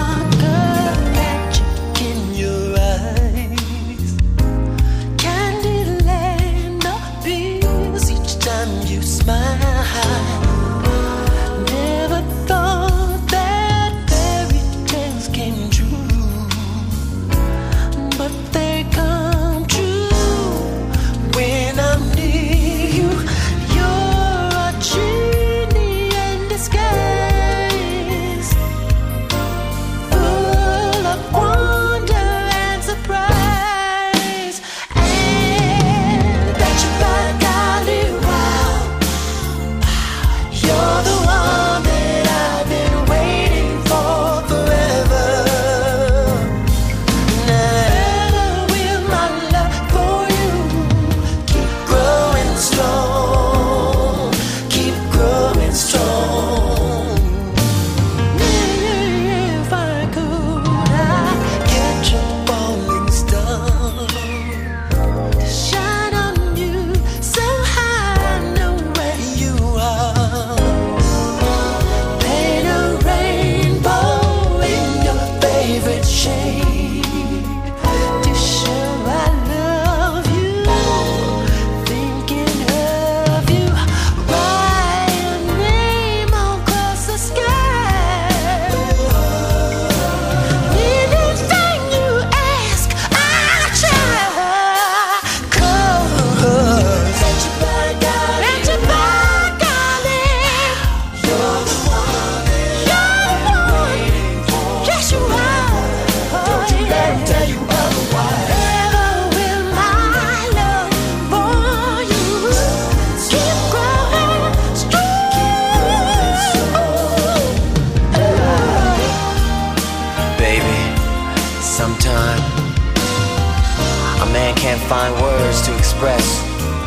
Find words to express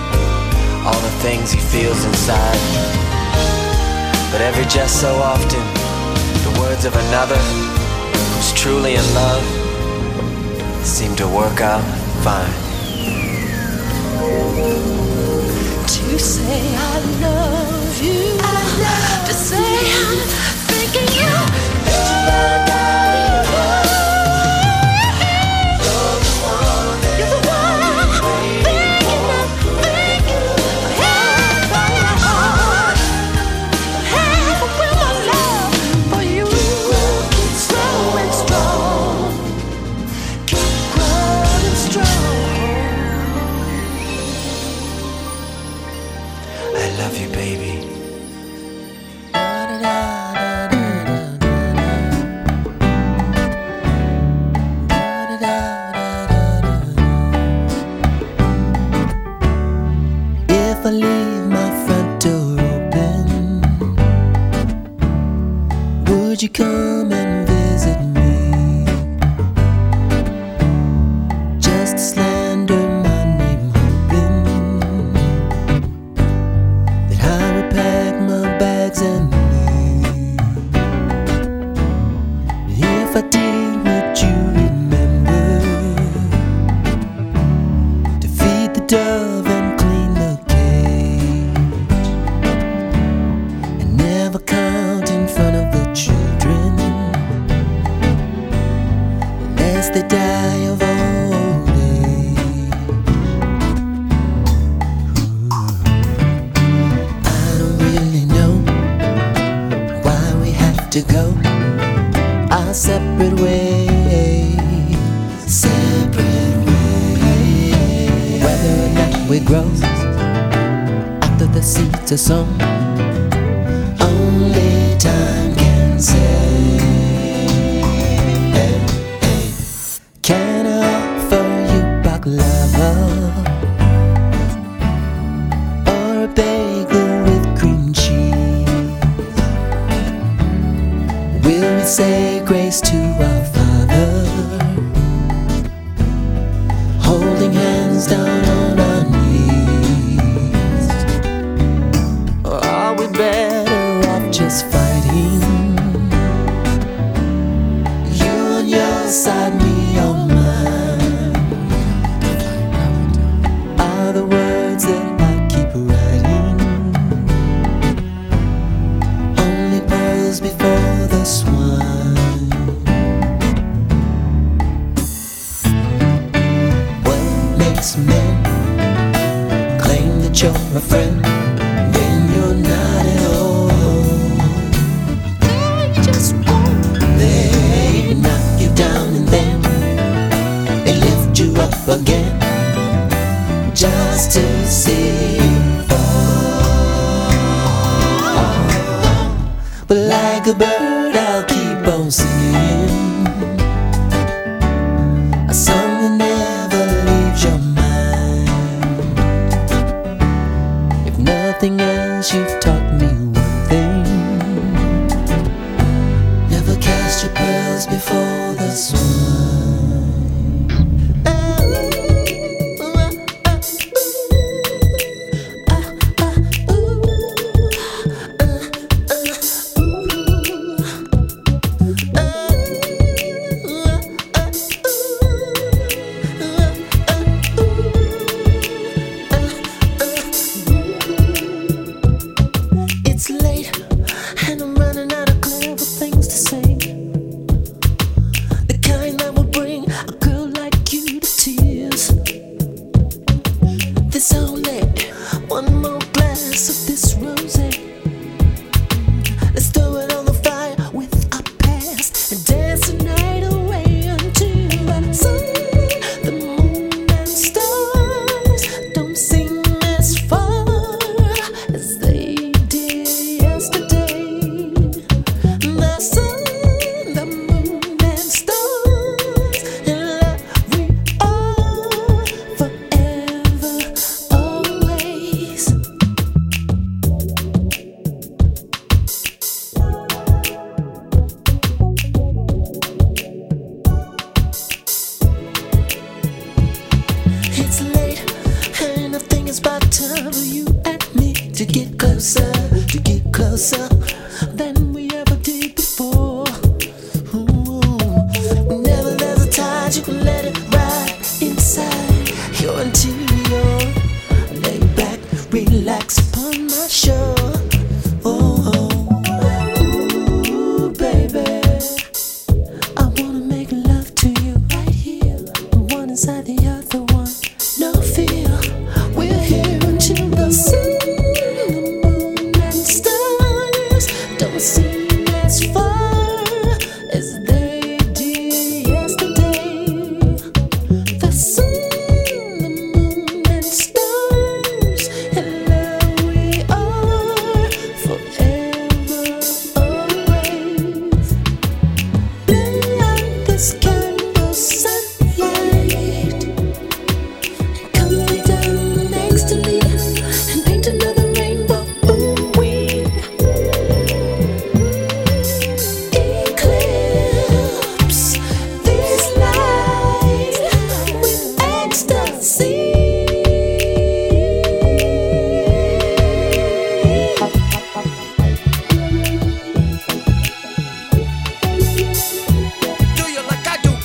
all the things he feels inside. But every just so often, the words of another who's truly in love seem to work out fine. To say I love you, to say I'm thinking you. If I leave my front door open, would you come and visit me? Just to slander my name, hoping that I would pack my bags and leave. And if I did, would you remember to feed the dove and clean the count in front of the children, lest they die of old age. I don't really know why we have to go our separate ways, whether or not we grow after the seeds are sown. Only time can say. Hey, hey. Can I offer you baklava or a bagel with cream cheese? Will we say grace to our Father, holding hands down on our knees? Or are we better off just fighting? You on your side, me on mine, are the words that I keep writing. Only pearls before the swine. again, just to see you fall. But like a bird, I'll keep on singing, a song that never leaves your mind. If nothing else, you've taught me one thing: never cast your pearls before the swine. It's late and I'm running out of clever things to say, the kind that will bring a girl like you to tears. There's only one more glass of this rosé. Let's throw it on the fire with our past and dance the night away until the sun, the moon and stars don't seem as far as they did yesterday. The sun, the moon and stars, in love we are forever, always. It's late and I think it's about time for you and me to get closer than we ever did before. Ooh, whenever there's a tide, you can let it ride inside your interior. Lay back, relax upon my shore. Ooh, baby, I wanna make love to you right here, one inside the other one. No fear, we're here until the sun, the moon and stars don't seem as far as they did yesterday. The sun, the moon and stars, and love we are forever, always. Light this candle sunlight, come lay down next to me and paint another rainbow. Ooh, we eclipse this light with ecstasy. Do you like I do?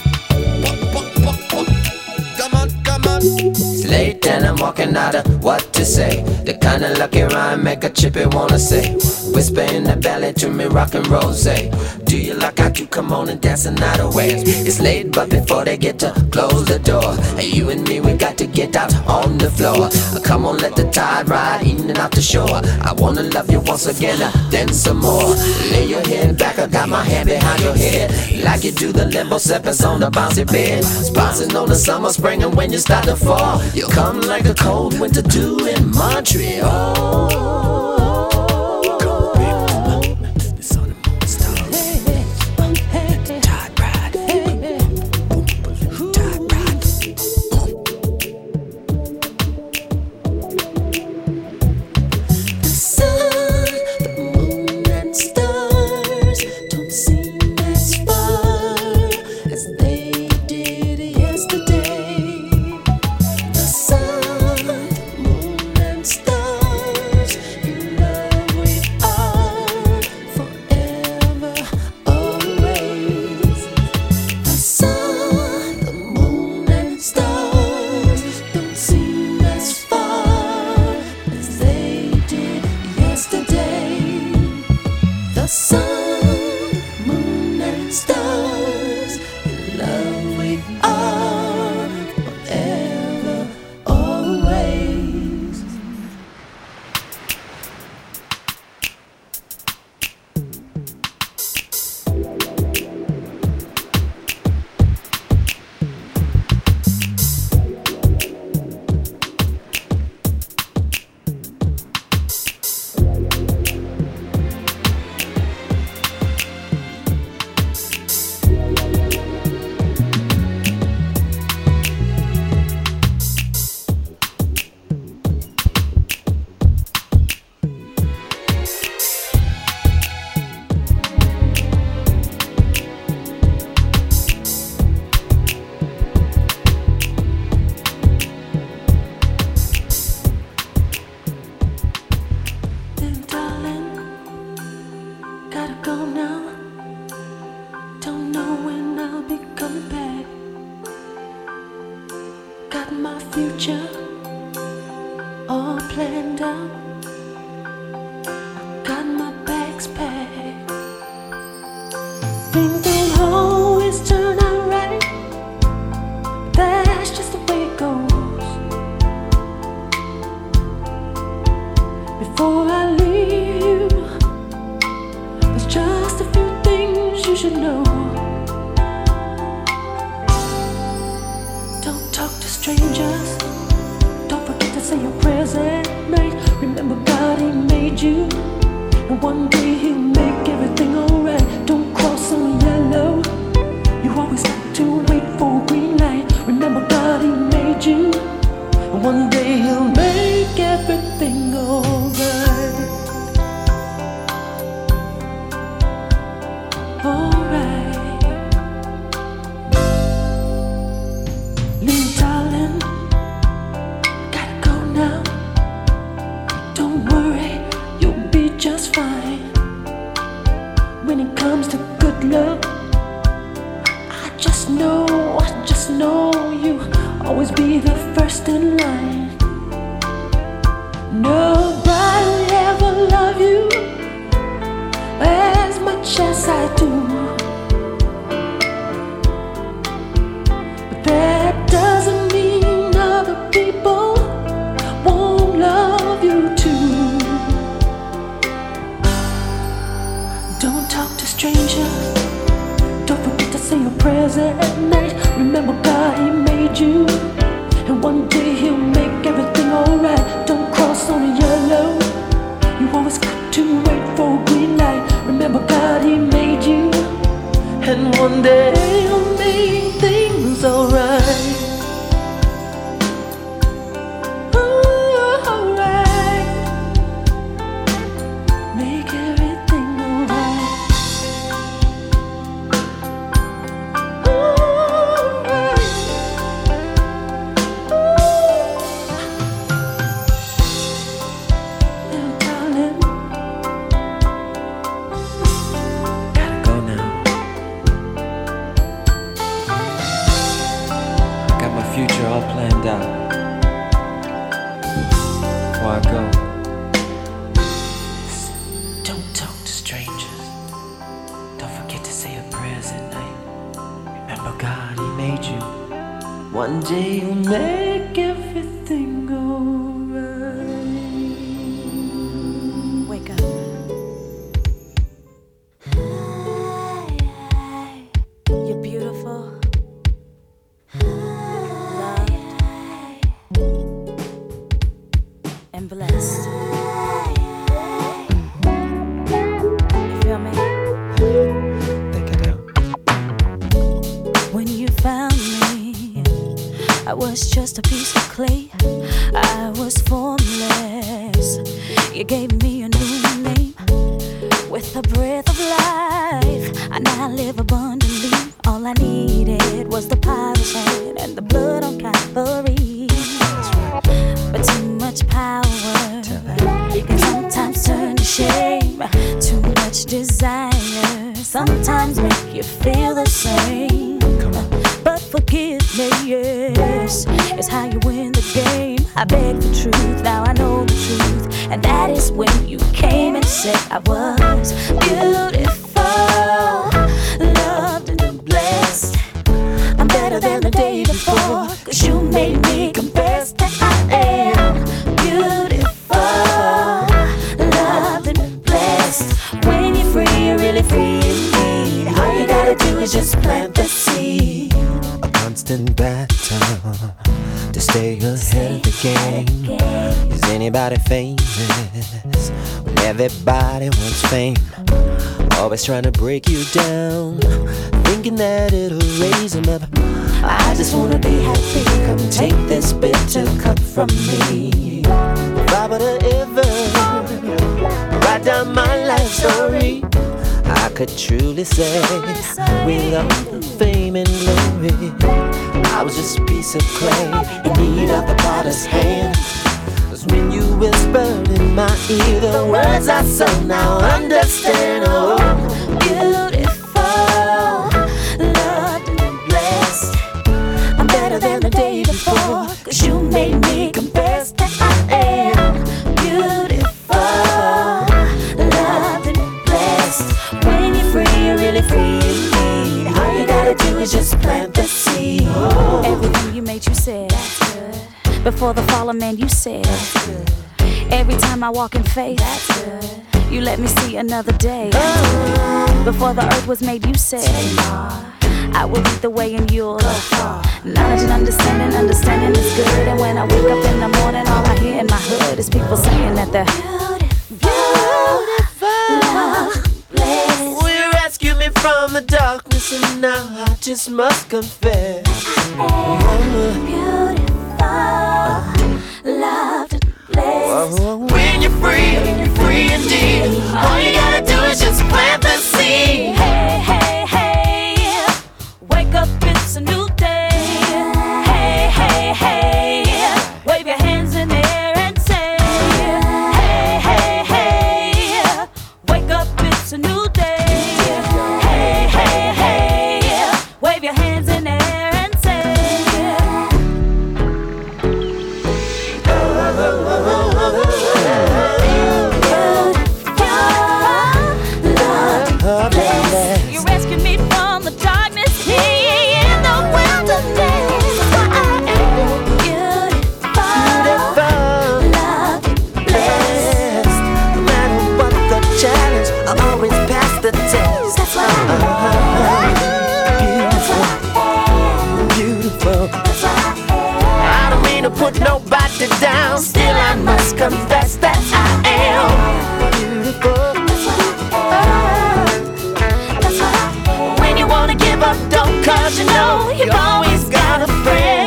Come on, come on. It's late and I'm walking out of what to say. The kind of lucky rhyme make a chippy wanna say. Whisper in the belly to me, rock and rose. Do you like I do? Come on and dance the night away. It's late, but before they get to close the door, you and me, we got to get out on the floor. Come on, let the tide ride in and out the shore. I wanna love you once again, then some more. Lay your head back, I got my hand behind your head, like you do the limbo steppers on the bouncy bed. Bouncing on the summer, spring, and when you start to fall, you come like a cold winter dew in Montreal. The sun, the moon and stars don't seem as far as they did yesterday. The sun, the moon and stars, in future all planned out. I got my bags packed. Things don't always turn out right. That's just the way it goes. Before I leave you, there's just a few things you should know. Don't talk to strangers. Don't forget to say your prayers at night. Remember God, He made you, and one day He'll make everything alright. Don't cross on yellow. You always have to wait for a green light. Remember God, He made you, and one day He'll make everything alright. Alright. Little darling, gotta go now. Don't worry, you'll be just fine. When it comes to good luck, I just know you always be the first in line. Nobody will ever love you as much as I do, but that doesn't mean other people won't love you too. Don't talk to strangers. Don't forget to say your prayers at night. Remember God, He made you, and one day He'll make everything alright. Don't cross on a yellow. You always got to wait for a green light. Remember God, He made you, and one day He'll make things alright. Alright. Make everything alright. Little darling, Gotta go now. Got my future all planned out. Before I go, don't talk to strangers. Don't forget to say your prayers at night. Remember God, He made you. One day He'll make everything alright. Wake up. You're beautiful, loved, and blessed. You feel me? Think I do. When you found me, I was just a piece of clay. I was formless. You gave me a new name. With the breath of life, I now live abundantly. All I needed was the potter's hand and the blood on Calvary. But too much power can sometimes turn to shame. Too much desire sometimes make you feel the same. But forgiveness is how you win the game. I beg the truth, now I know the truth, and that is when you came and said I was beautiful, loved and blessed. I'm better than the day before, 'cause you made me confess that I am beautiful, loved and blessed. When you're free, you're really free indeed. All you gotta do is just plant the seed. A constant battle to stay ahead of the game. Is anybody famous when everybody wants fame? Always trying to break you down, thinking that it'll raise them up. I just wanna be happy. Come take this bitter cup from me. If I were to ever write down my life story, I could truly say without fame and glory, I was just a piece of clay in need of the potter's hand. 'Cause when you whispered in my ear the words I sung, now understand. Oh, Beautiful, loved and blessed. I'm better than the day before, 'cause you made is just plant the seed. Everything you made, you said. That's good. Before the fall of man, you said. That's good. Every time I walk in faith, that's good. You let me see another day. Before the earth was made, you said, I will lead the way and you'll knowledge and understanding, understanding is good. And when I wake up in the morning, all I hear in my hood is people saying that they're beautiful. Will you rescue me from the darkness? And now I just must confess, beautiful, loved and blessed. When you're free indeed. All you gotta do is just plant the seed. Hey, hey, hey, wake up, it's a new day. Hey, hey, hey, wave your hands in the air and say, hey, hey, hey, wake up, it's a new day. Hey, hey, hey, wave your hands in the air and say, you rescued me from the darkness here in the wilderness. That's why I am beautiful, loved, blessed. No matter what the challenge, I always pass the test. That's why I am beautiful. I don't mean to put nobody down, still I must confess that I am beautiful. When you wanna give up, don't, 'cause you know you've always got a friend.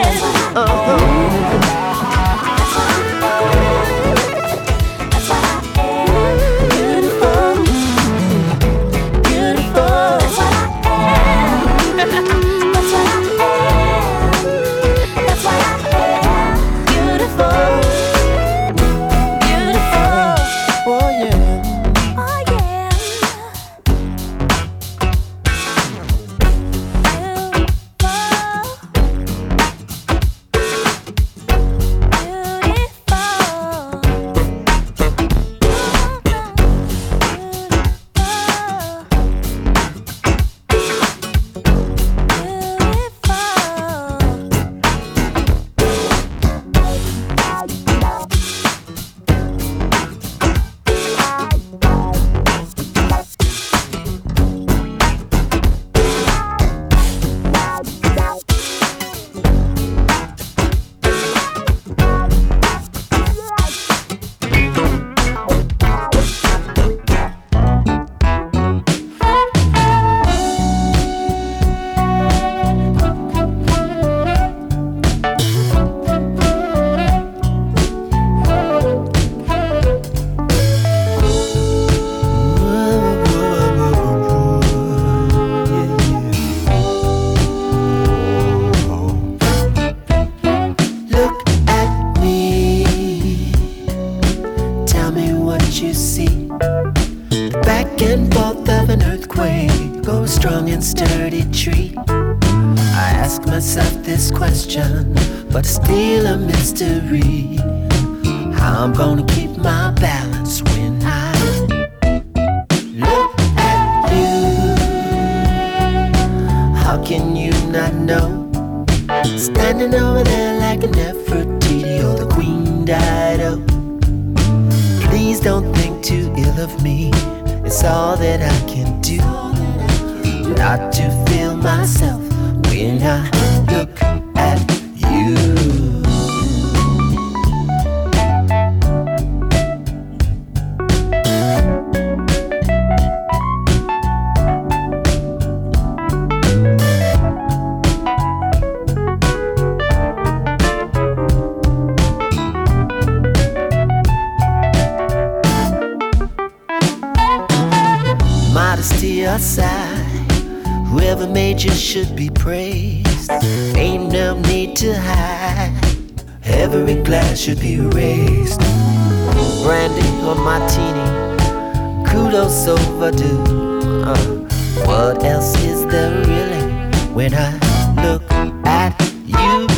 But it's still a mystery how I'm gonna keep my balance when I look at you. How can you not know? Standing over there like a Nefertiti or the Queen Dido. Please don't think too ill of me. It's all that I can do not to feel myself when I look at you. Modesty aside, whoever made you should be praised. Ain't no need to hide. Every glass should be raised. Brandy or martini, kudos overdue. What else is there really when I look at you?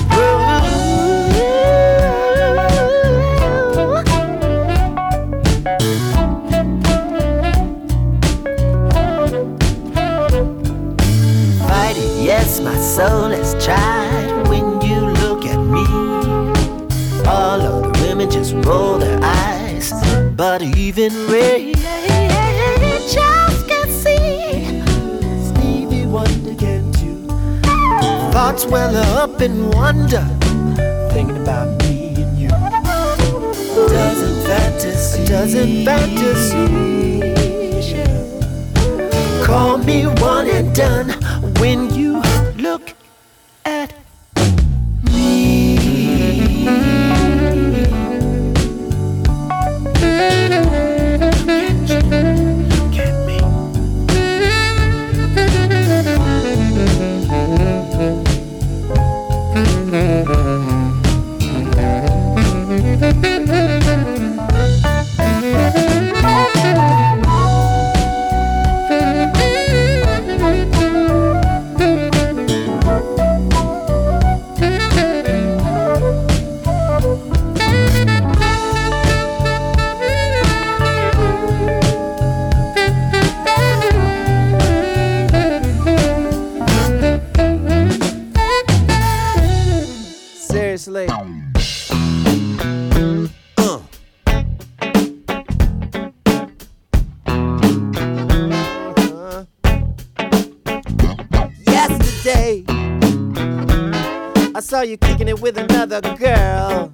Yes, my soul has tried when you look at me. All of the women just roll their eyes, but even Ray Charles can see. Stevie Wonder can too. Thoughts well up in wonder, thinking about me and you. Doesn't fantasy call me one and done when you look at me. Look at me. Seriously. Yesterday, I saw you kicking it with another girl.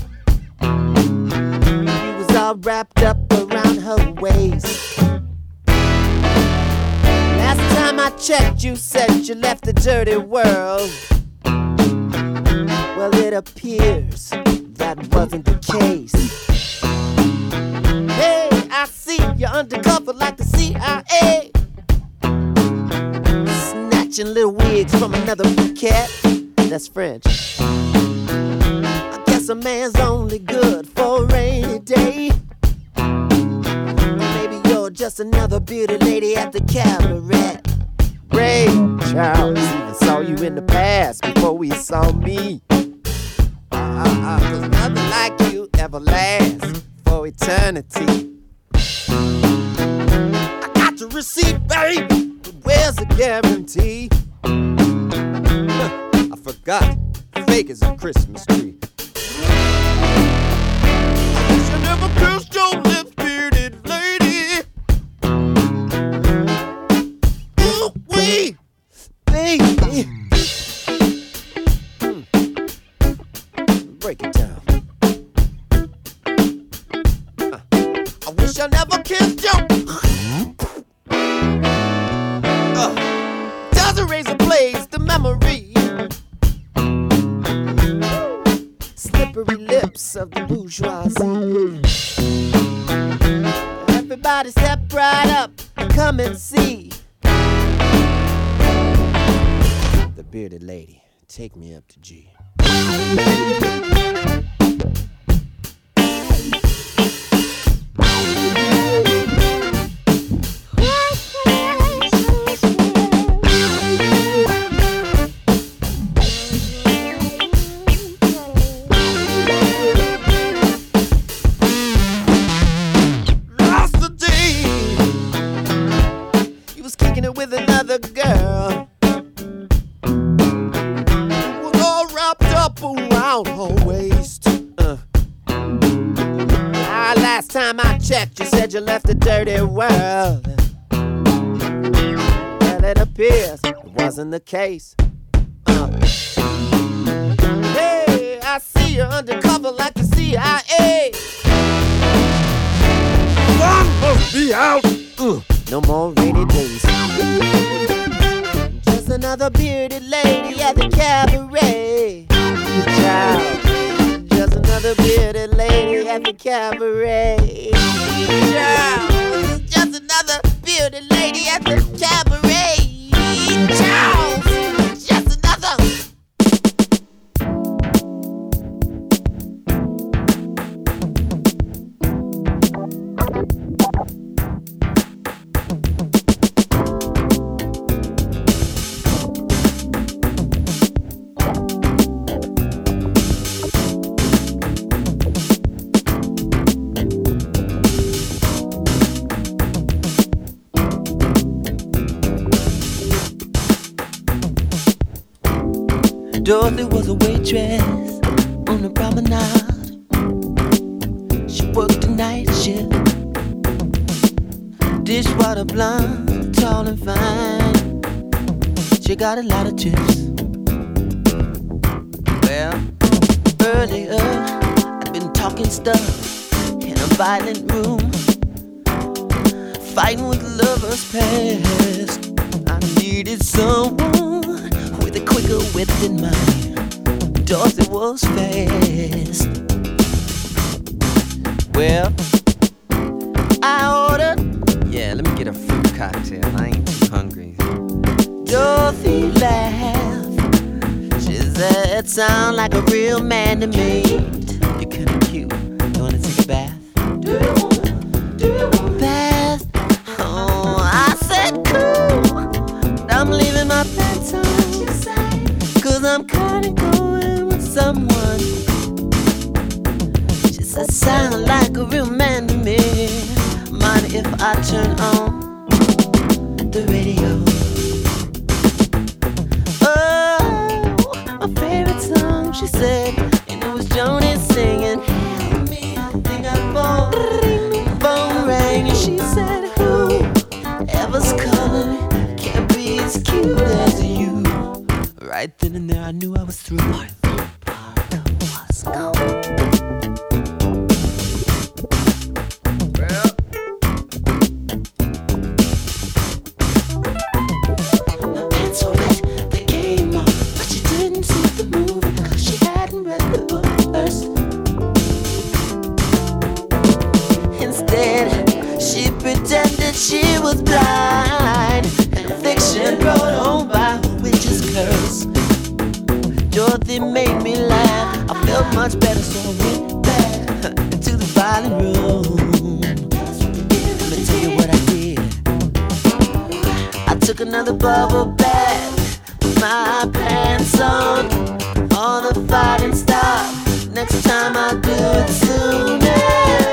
You was all wrapped up around her waist. Last time I checked, you said you left the dirty world. Well, it appears that wasn't the case. Hey, I see you're undercover like the CIA, snatching little wigs from another cat. That's French. I guess a man's only good for a rainy day. Maybe you're just another beauty lady at the cabaret. Ray Charles even saw you in the past before we saw me. Cause nothing like you ever lasts for eternity. I got the receipt, babe, but where's the guarantee? I forgot, fake as a Christmas tree. I wish I never kissed your lips, bearded lady. Ooh, wee, baby. Break it down. I wish I never kissed you. Doesn't raise a place the memory. Slippery lips of the bourgeoisie. Everybody step right up, come and see the bearded lady. Take me up to G. Last the day, he was kicking it with another girl. Around her waist. Last time I checked, you said you left the dirty world. Well, it appears it wasn't the case. Hey, I see you undercover like the CIA. One must be out. No more rainy days. Just another bearded lady at the cabaret. Child, just another bearded lady at the cabaret. Child, just another bearded lady at the cabaret. Child, just another. Dorothy was a waitress on the promenade. She worked the night shift. Dishwater blonde, tall and fine. She got a lot of chips. Well, earlier I'd been talking stuff in a violent room, fighting with lovers past. I needed someone with a quicker wit than mine. Dorothy was fast. Well, I ordered, yeah, let me get a fruit cocktail. I ain't too hungry. Dorothy laughed. She said, sound like a real man to me. You're kinda cute. You wanna take a bath? Do you want bath? Oh, I said cool. I'm leaving my pants on. Cause I'm kinda going with someone. She said, sound like a real man to me. Mind if I turn on the radio? Oh, my favorite song, she said, and it was Joni singing. Help me, I think I phone rang, and she said, who ever's calling can't be as cute as you. Right then and there I knew I was through. My father was gone. She was blind, and fiction brought home by a witch's curse. Dorothy made me laugh. I felt much better, so I went back into the violent room. Let me tell you what I did. I took another bubble bath, with my pants on. All the fighting stopped. Next time I'll do it sooner.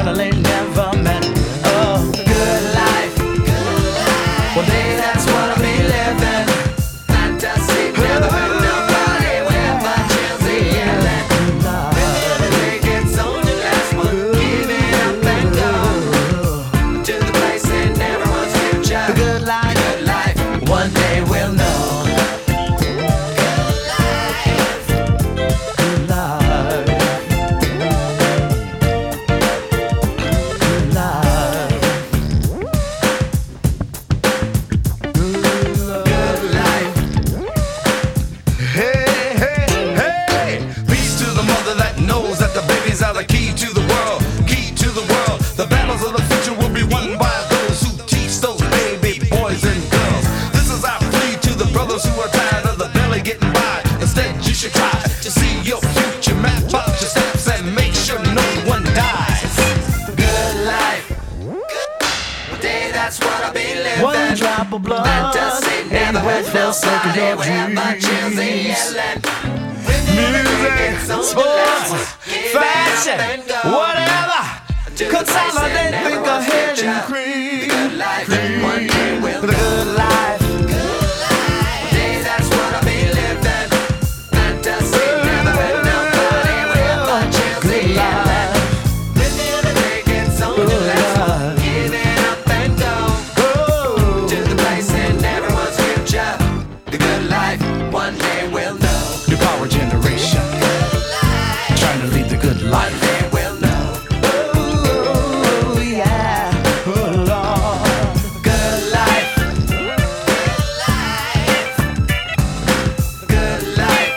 girl I ain't never met. Oh, good life. One day that's what I'll be living. Fantasy, never hurt nobody with my Chelsea yelling. Every day gets on the last one, giving up and go to the place in everyone's future. The good life, good life. One day we'll know. One drop of blood ain't worth no second of dreams. Music, sports, fashion, whatever. Consolidate, think ahead and cream. The good life. That's what I'll be living. Fantasy, never hurt nobody with my Chelsea yelling. Living the day gets on the last one, giving up and go to the place in everyone's future. The good life, one day we'll know. New power generation, trying to lead the good life. One day we'll know. Oh yeah, oh Lord. Good life. Good life.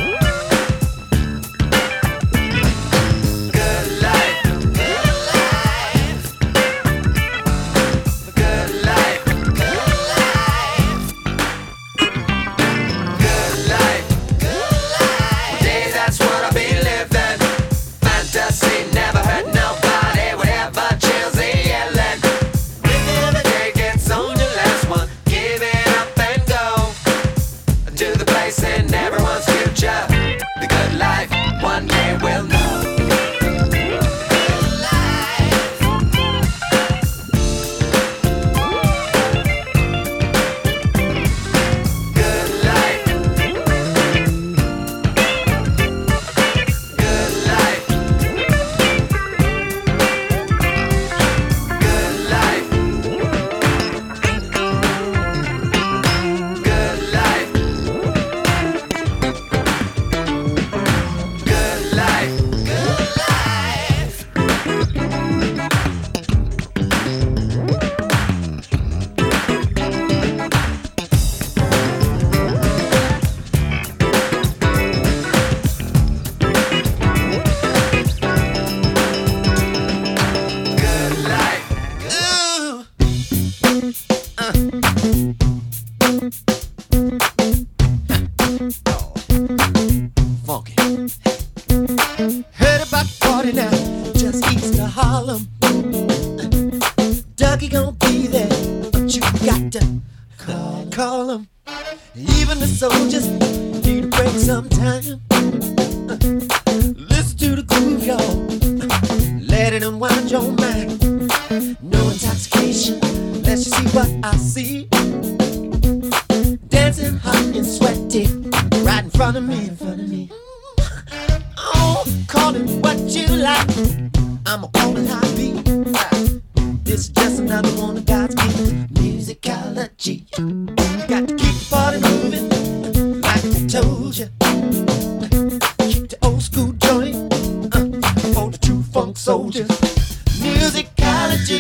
Good life. Good life. Good life. Day, that's what I'll be living. Fantasy, never hurt nobody. Whatever Chelsea yelling. Living the day gets on the last one. Giving up and go to the place in everyone's future. The good life, one day we'll know. Good life. Good life. Good life. Good life. Good life. Good life. Ooh. Funky. Heard about the party now, just east of Harlem. Dougie gon' be there, but you got to call him. Even the soldiers need a break sometime. Listen to the groove, y'all. Let it unwind your mind. No intoxication, let's just see what I see. Dancing hot and sweaty, right in front of me. Oh, call it what you like. I'ma call it high beat. This is just another one of God's gifts. Musicology. Got to keep the party moving, like I told ya. Keep the old school joint for the true funk soldiers. Musicology.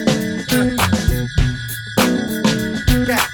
Yeah.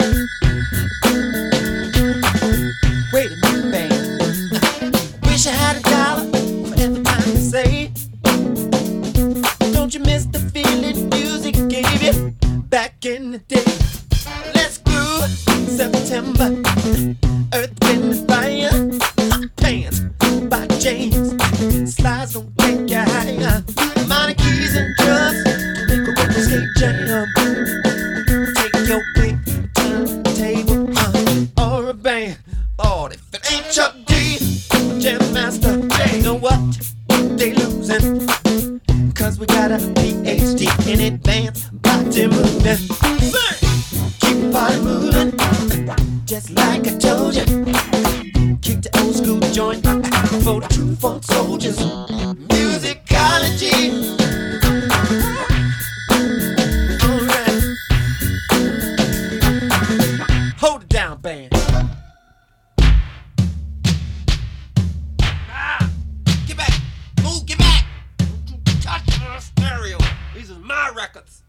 Wait a minute, babe. Wish I had $1 for every time you say. Don't you miss the feeling music gave you back in the day? Let's groove. September, Earth, Wind, and Fire. Pants by James. Slides don't take you higher. Minor keys and drums can make a record skate jam. Take your pick, turntable or a band. Lord, if it ain't Chuck D, Jam Master, you know what? They losing. Cause we got a PhD in advanced body movement. Keep your body moving, just like I told you. Kick the old school joint for the true funk soldiers. Musicology. Alright. Hold it down, band. Get back. Move, get back. Don't you touch my stereo. These are my records.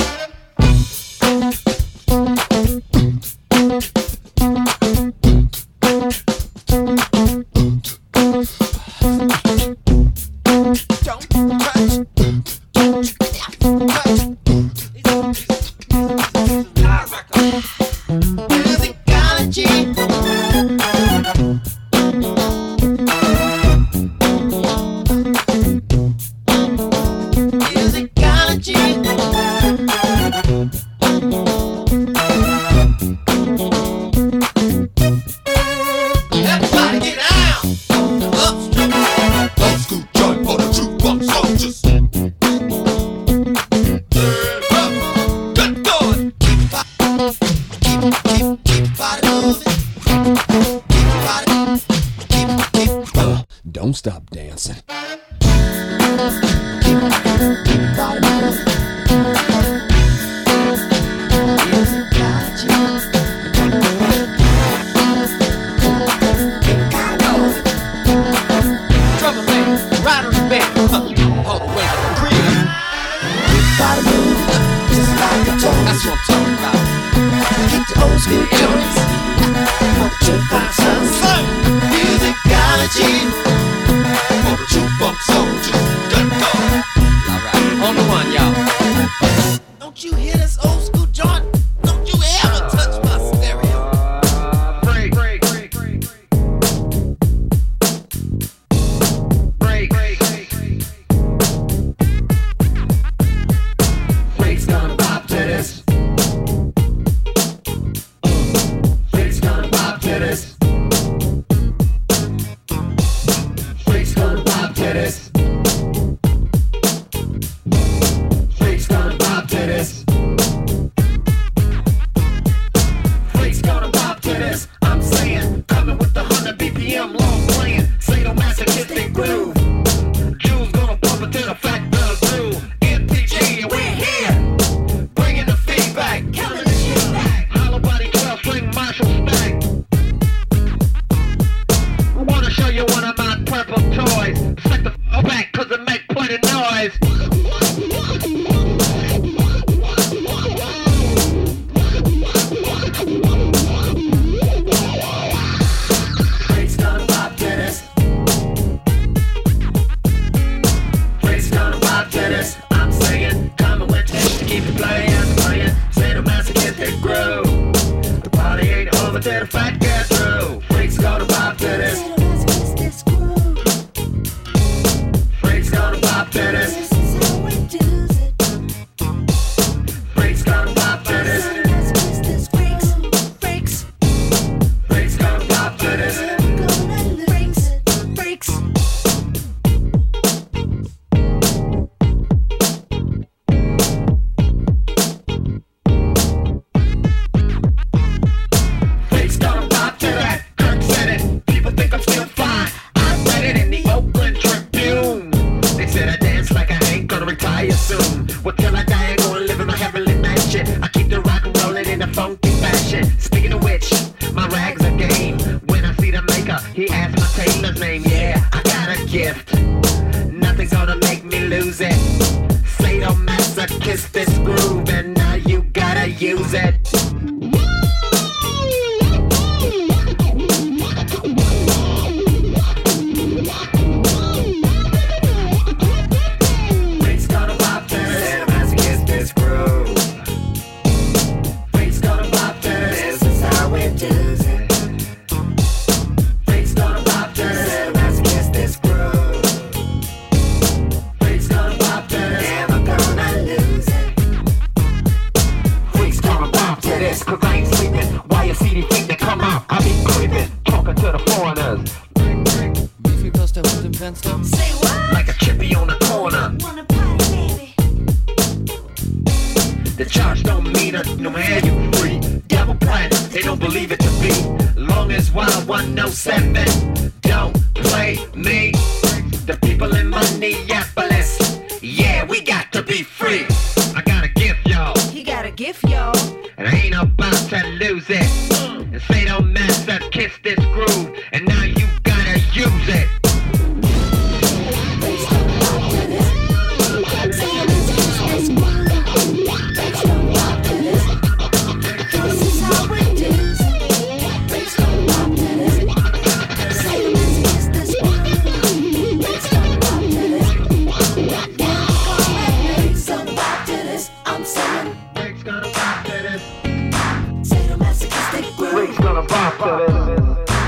Don't stop dancing. Don't you hear this old school joint? Don't you ever touch my stereo. Break. Break's gonna pop to this. Break's gonna pop to this. Break's gonna pop to this. Freaks gonna pop to this. Freaks gonna pop to this. I'm saying, coming with the 100 BPM long playing, sadomasochistic groove. Jews gonna pump it to the fact that groove. MPG, we're here, bringing the feedback, killing the shit back. Hollow body 12 string Marshall stack. I wanna show you one of my purple toys. Set the back 'cause it make plenty noise. Freaks gonna pop to this. Freaks gonna pop to this. I'm saying, coming with this to keep it playing. Sadomasochistic groove. The party ain't over till the fight gets through. Freaks gonna pop to this. Freaks gonna pop to this. Freaks gonna pop to this. Freaks gonna pop to this. Freaks gonna pop to that. Kirk said it. People think I'm still fine. I read it in the Oakland Tribune. They said I dance like I ain't gonna retire soon. Well, till I die, I'm gonna live in my heavenly mansion. I keep the rock and rolling in a funky fashion. Speaking of which, my rags are game. When I see the maker, he asks my tailor's name. Yeah, I got a gift. Nothing's gonna make me lose it. Sadomasochist this groove, and now you gotta use it. Freaks gonna pop to this. Sadomasochist this groove. The charge don't mean it, no man you free. Devil plan, they don't believe it to be. Long as Wild 107 don't play me. The people in Minneapolis, yeah, we got to be free. I got a gift, y'all. He got a gift, y'all. And I ain't about to lose it. And say don't mess up, kiss this groove. And now you gotta use it. Gonna bop to this.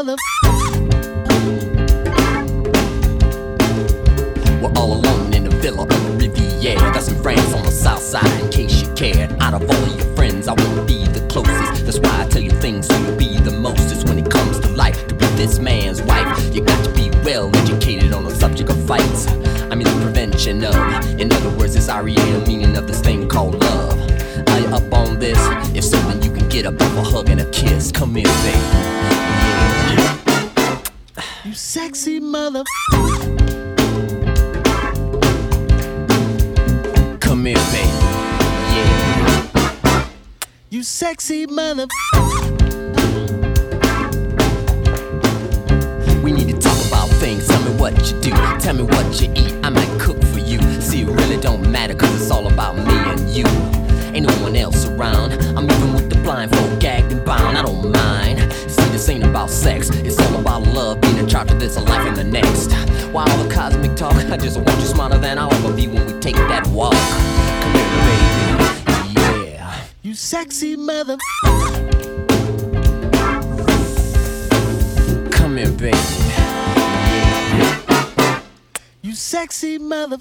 mother. We're all alone in a villa on the Riviera. That's in France on the south side, in case you cared. Out of all of your friends, I wanna be the closest. That's why I tell you things so you'll be the mostest. When it comes to life, to be this man's wife, you got to be well educated on the subject of fights. I mean the prevention of. In other words, it's REA, the meaning of this thing called love. Are you up on this? If so, then you can get up off a hug and a kiss. Come here, baby. Yeah. You sexy mother. Come here, baby. Yeah. You sexy mother. We need to talk about things. Tell me what you do. Tell me what you eat. I might cook for you. See, it really don't matter, cause it's all about me and you. Ain't no one else around. I'm even with the blindfold, gagged and bound. I don't mind. See, this ain't about sex. It's all about love, being in charge of this, a life in the next. Why all the cosmic talk? I just want you smarter than I'll ever be when we take that walk. Come here, baby. Yeah. You sexy mother. Come here, baby. Yeah. You sexy mother.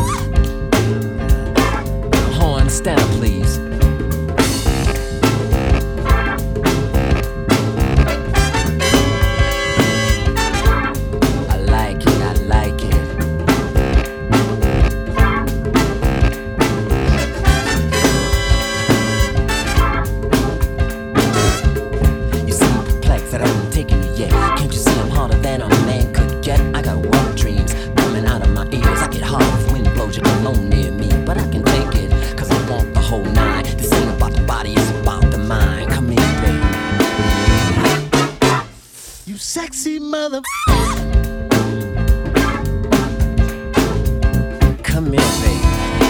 Horn, stand up, please. I like it, I like it. You seem perplexed that I haven't taken you yet. Can't you see I'm harder than a man could get? I got wild dreams coming out of my ears. I get hard if wind blows you alone near me, but I can take it, cause I want the whole nine. This ain't about the body, it's about the mind. Come here, baby. You sexy mother. Come here, baby.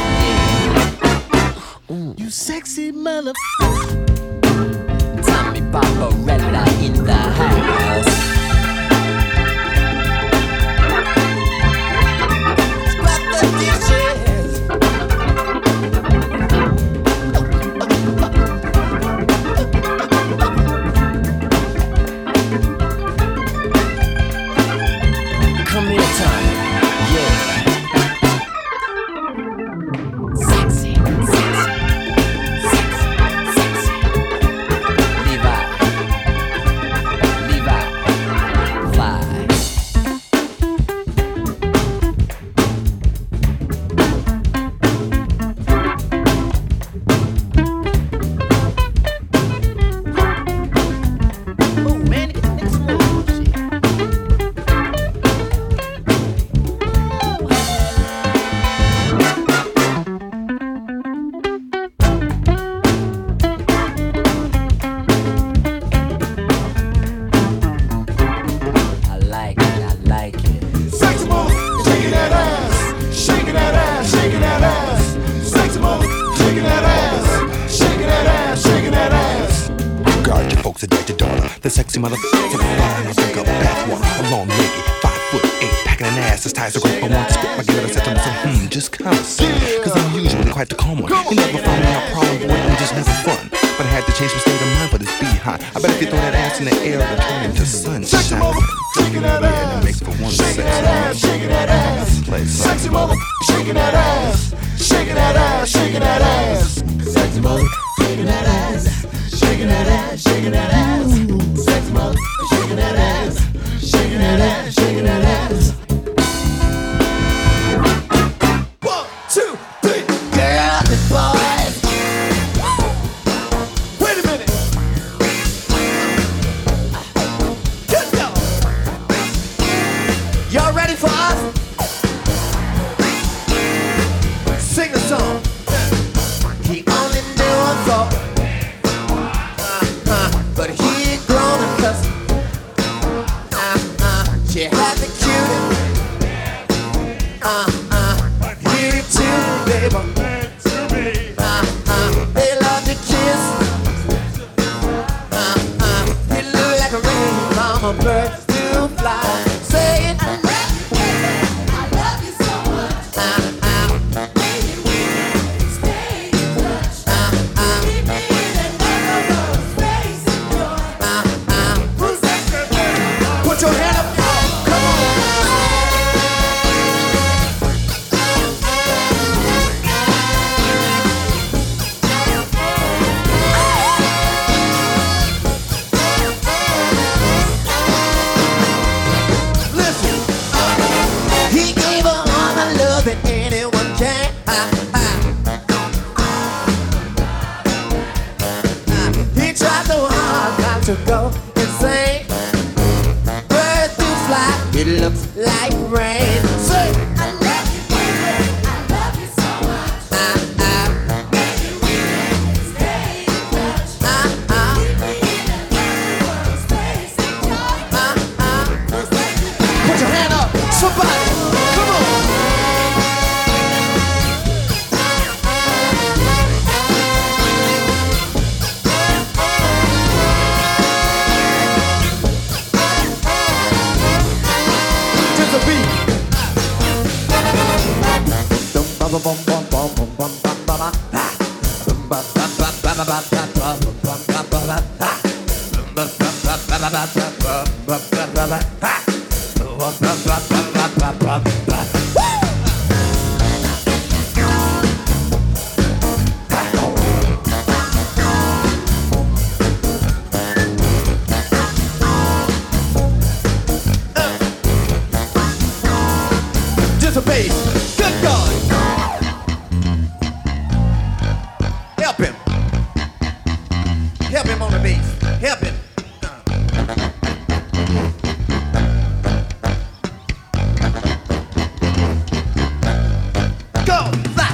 Yeah. You sexy mother. Tommy Barbarella in the house. Scrap the dishes. Come here, Tommy. Yeah. Sexy, sexy, sexy, sexy. Levi, fly. Oh man, it gets more shit. I like it, I like it. Sexy mother, shaking that ass, shaking that ass, shaking that ass. Sexy mother, shaking that ass, shaking that ass, shaking that ass. Guard your folks, adore your daughter. The sexy mother, to the fire, I think of bathwater. A long lady, 5'8", packing an ass as tight as a rope. I want to spit my glitter, said to myself, just kind of see. Cause I'm usually quite the calm one. You never find me out problem, boy, I'm just never fun. But I had to change my state of mind for this beehive. I bet if you throw that ass in the air, it'll turn into sunshine. Sexy mother, shaking that ass. Yeah, that makes for one shaking that ass, shaking that ass. Play sexy mother, shaking that ass, shaking that ass, shaking that ass. Sexy mother, shaking that ass, shaking that ass, shaking that ass. Sexy mother, shaking that ass, shaking that ass, shaking that ass. 1, 2, 3. Girl, the boys. Wait a minute. Let's go. Y'all ready for us? Sing a song. He only knew a thought. But he ain't grown and cussed. She had the cutie. Give it to me, baby. They love to kiss. You look like a rain from a bird to fly. Say it. I love you so much. Baby, we can stay in touch. Keep me in another space and joy. Who's that girl? about to go insane. Birds do fly, it looks like rain. Say, I love you, baby. I love you so much. Maybe we can stay in touch. Keep me in another world, space and time. Put your hand up, somebody, come on. Just a beat. Just a bass. Good God. Help him. Help him on the bass. Help him. Go. Fly.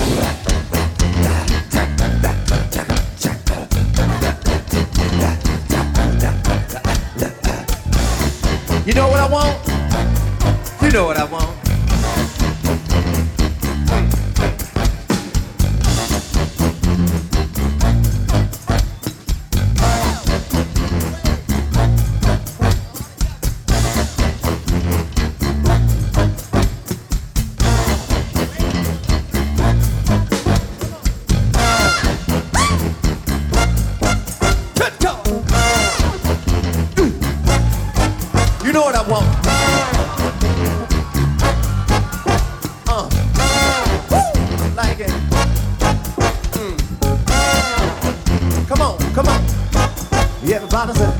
You know what I want? You know what I want. You know what I want? Like it. Come on, come on. You everybody say.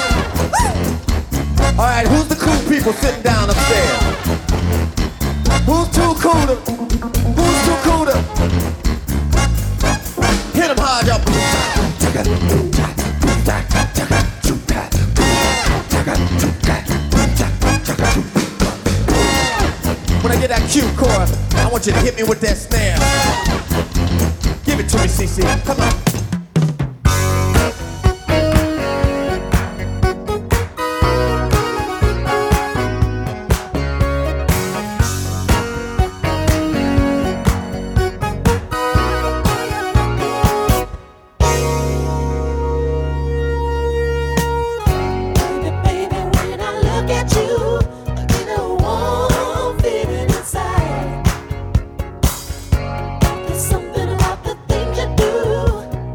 All right, who's the cool people sitting down upstairs? Who's too cool to? Who's too cool to? Hit them hard, y'all. When I get that cue chorus, I want you to hit me with that snare. Give it to me, CC. Come on. Baby, when I look at you, I get a warm feeling inside. There's something about the things you do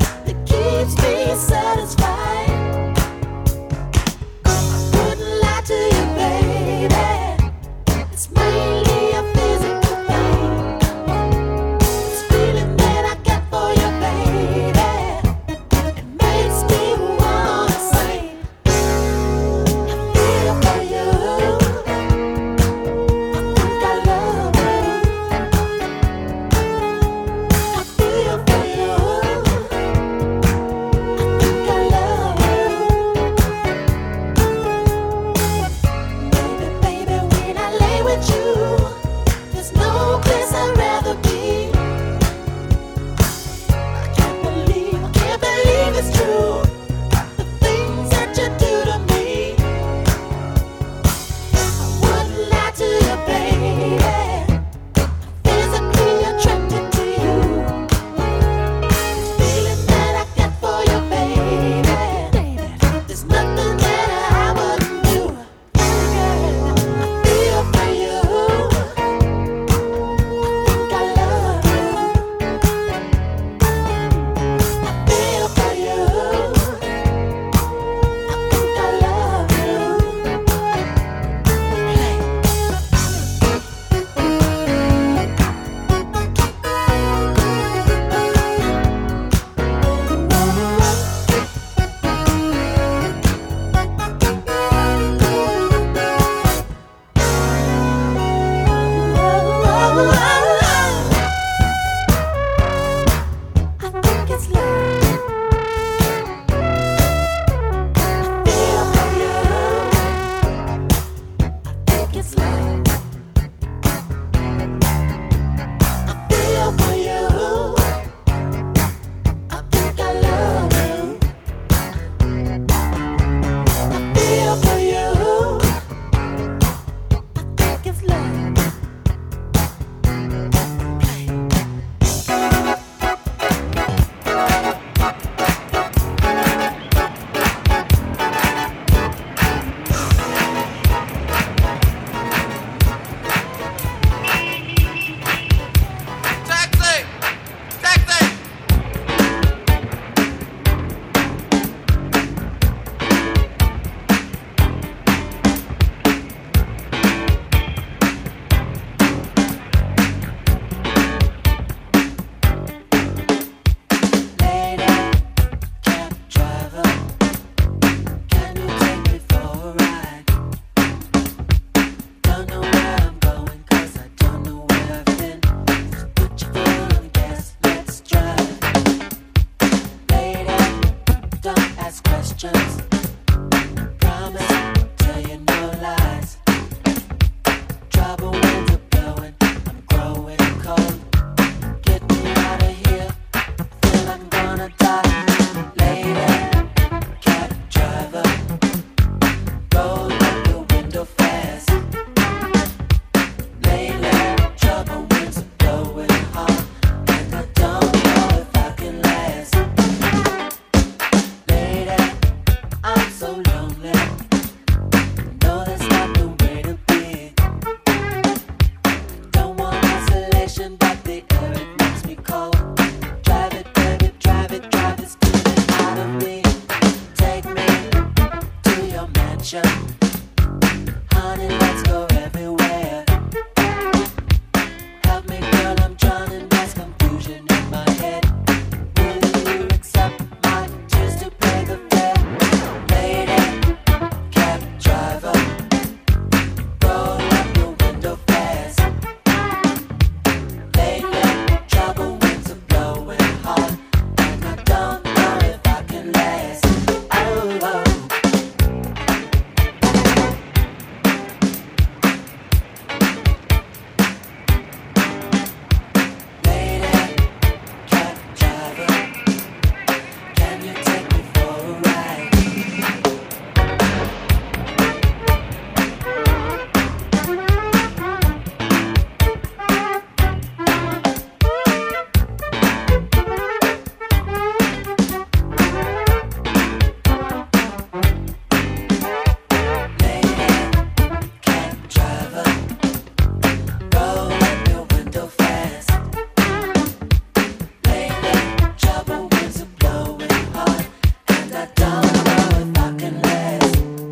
ask questions. Promise, tell you no lies. Trouble winds are blowing, I'm growing cold. Get me out of here, feel I'm gonna die. Lady, cab driver, roll up the window fast. Lately, trouble winds are blowing hard, and I don't know if I can last. Lady, I'm so lonely. No, that's not the way to be. Don't want isolation, but the air it makes me cold. Drive it, baby, drive it, steaming out of me. Take me to your mansion, honey. Let's go everywhere. Help me, girl, I'm drowning. There's confusion in my head. Will you accept my tears to pay the fare? Lady, cab driver, roll up your window fast. Lately, trouble winds are blowing hard, and I don't know if I can last. Oh, oh. Lady, cab driver, can you take me for a ride? Lady, cab driver, roll up your window fast. Lately, trouble winds are blowing hard, and I don't know if I can last.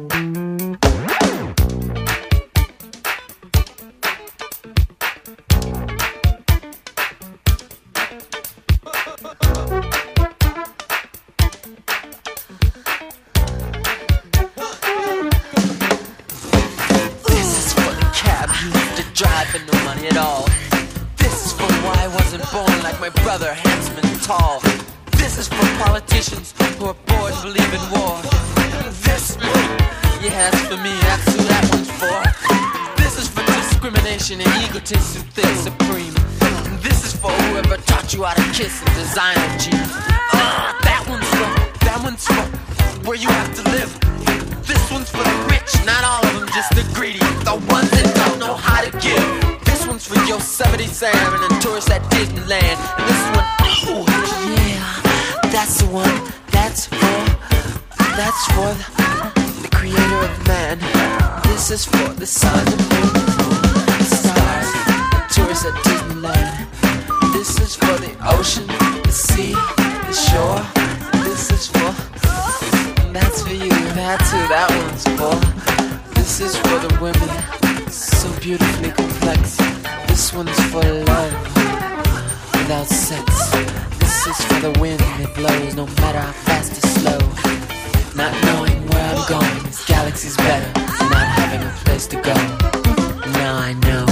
This is for the cab you used to drive for no money at all. This is for why I wasn't born like my brother, handsome and tall. This is for politicians who are bored and believe in war. This, yeah, that's for me, that's who that one's for. This is for discrimination and egotists who think supreme. And this is for whoever taught you how to kiss and designer jeans. That one's for where you have to live. This one's for the rich, not all of them, just the greedy, the ones that don't know how to give. This one's for Yosemite Sam and the tourists at Disneyland. And this one, oh yeah, that's the one. That's for the creator of man. This is for the sun, the moon, the stars, the tourists at Disneyland. This is for the ocean, the sea, the shore. This is for, that's for you, that's who that one's for. This is for the women, so beautifully complex. This one's for love, without sex. This is for the wind that blows, no matter how fast or slow. Not knowing where I'm going, this galaxy's better than not having a place to go. Now I know.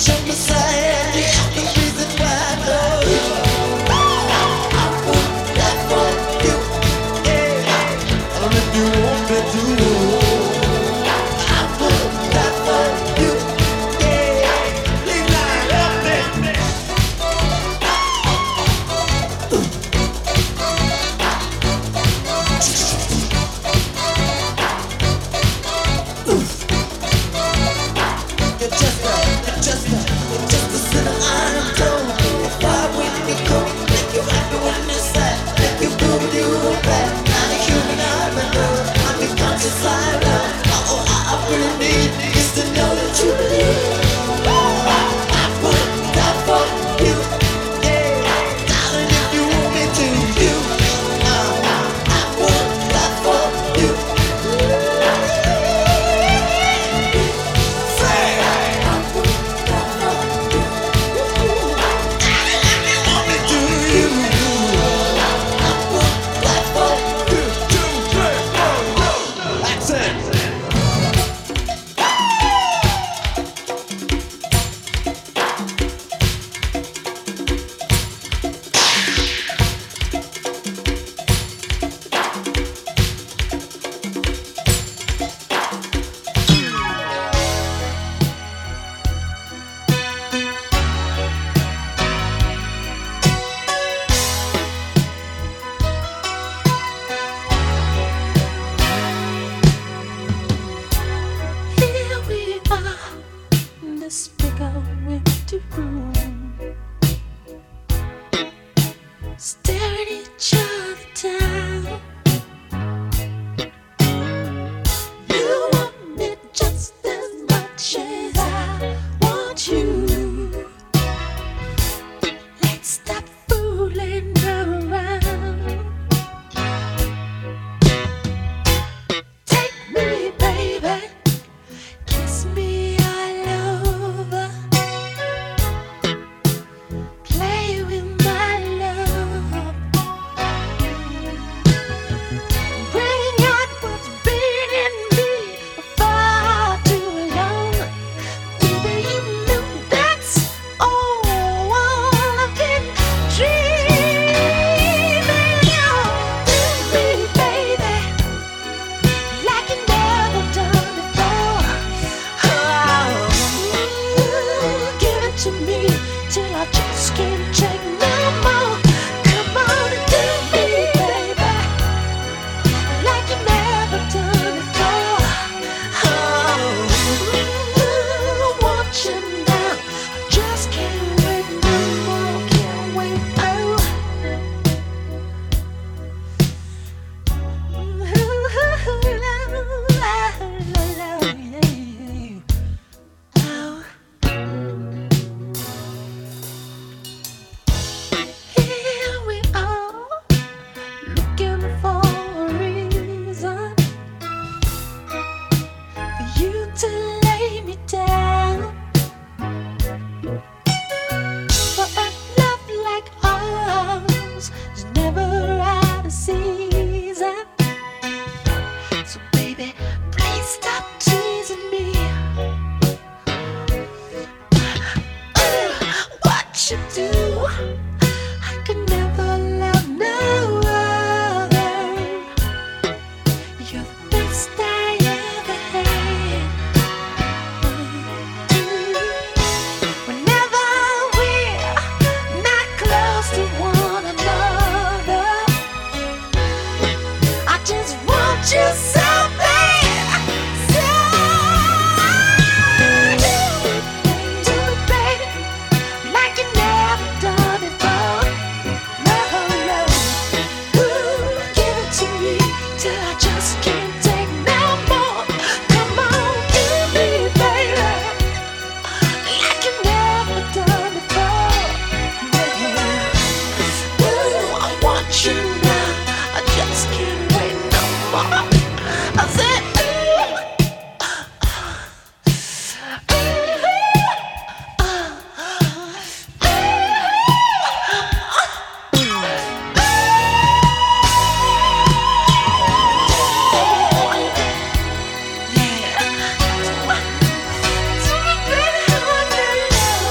Love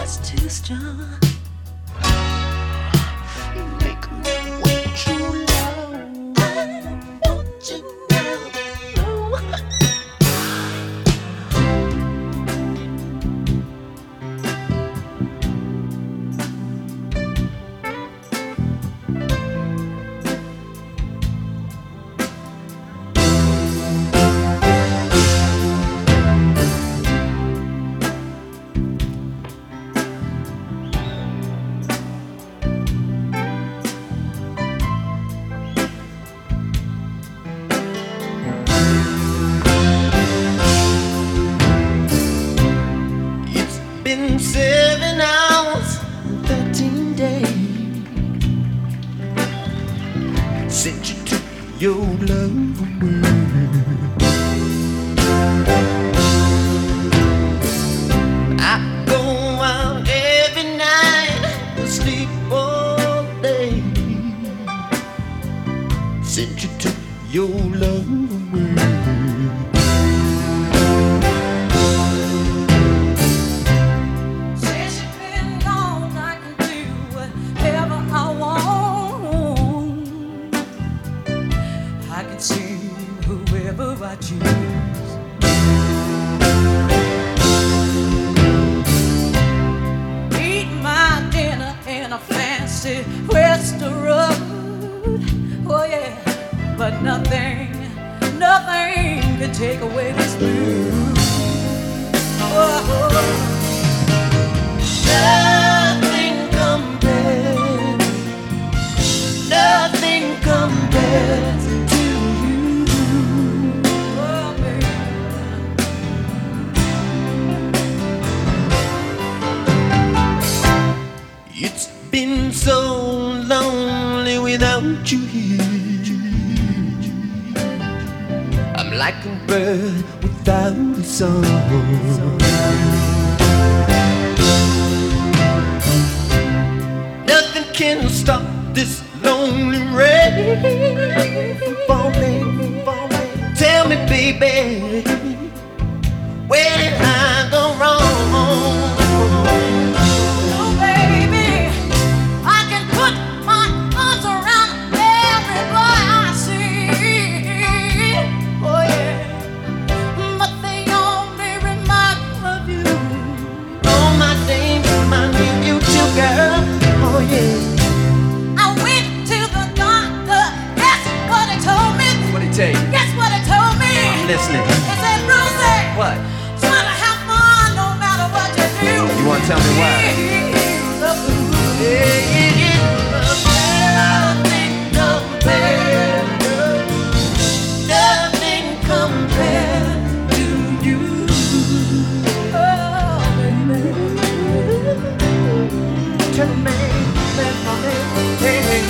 just too strong. You make me wait too long. I want you now. Been 7 hours and 13 days since you took your love away. I go out every night, sleep all day since you took your love away. I choose. Eat my dinner in a fancy restaurant. Oh yeah, but nothing can take away this blues. Oh, nothing compares to you. It's been so lonely without you here. I'm like a bird without a song. Nothing can stop this lonely rain from falling. Tell me, baby, where did I go wrong? Guess what it told me? I'm listening. It said, Rosie, what? Try to have fun no matter what you do. You want to tell me why? Nothing compared to you. Oh, baby. Tell me, let me, hey.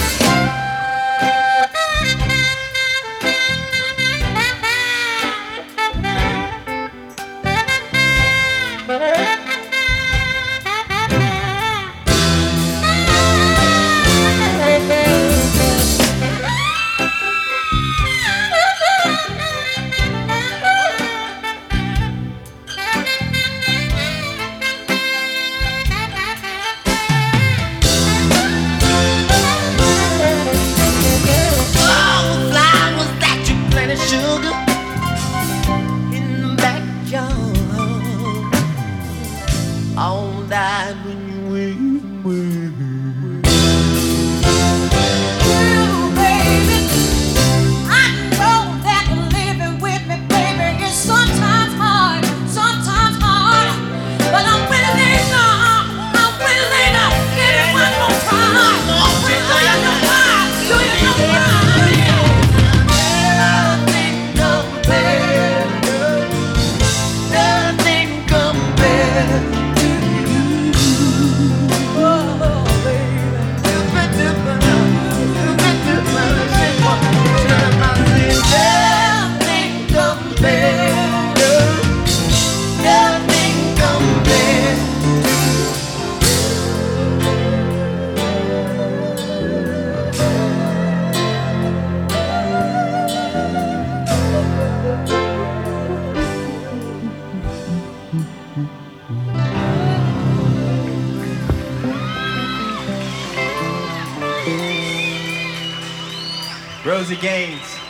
Rosie Gaines.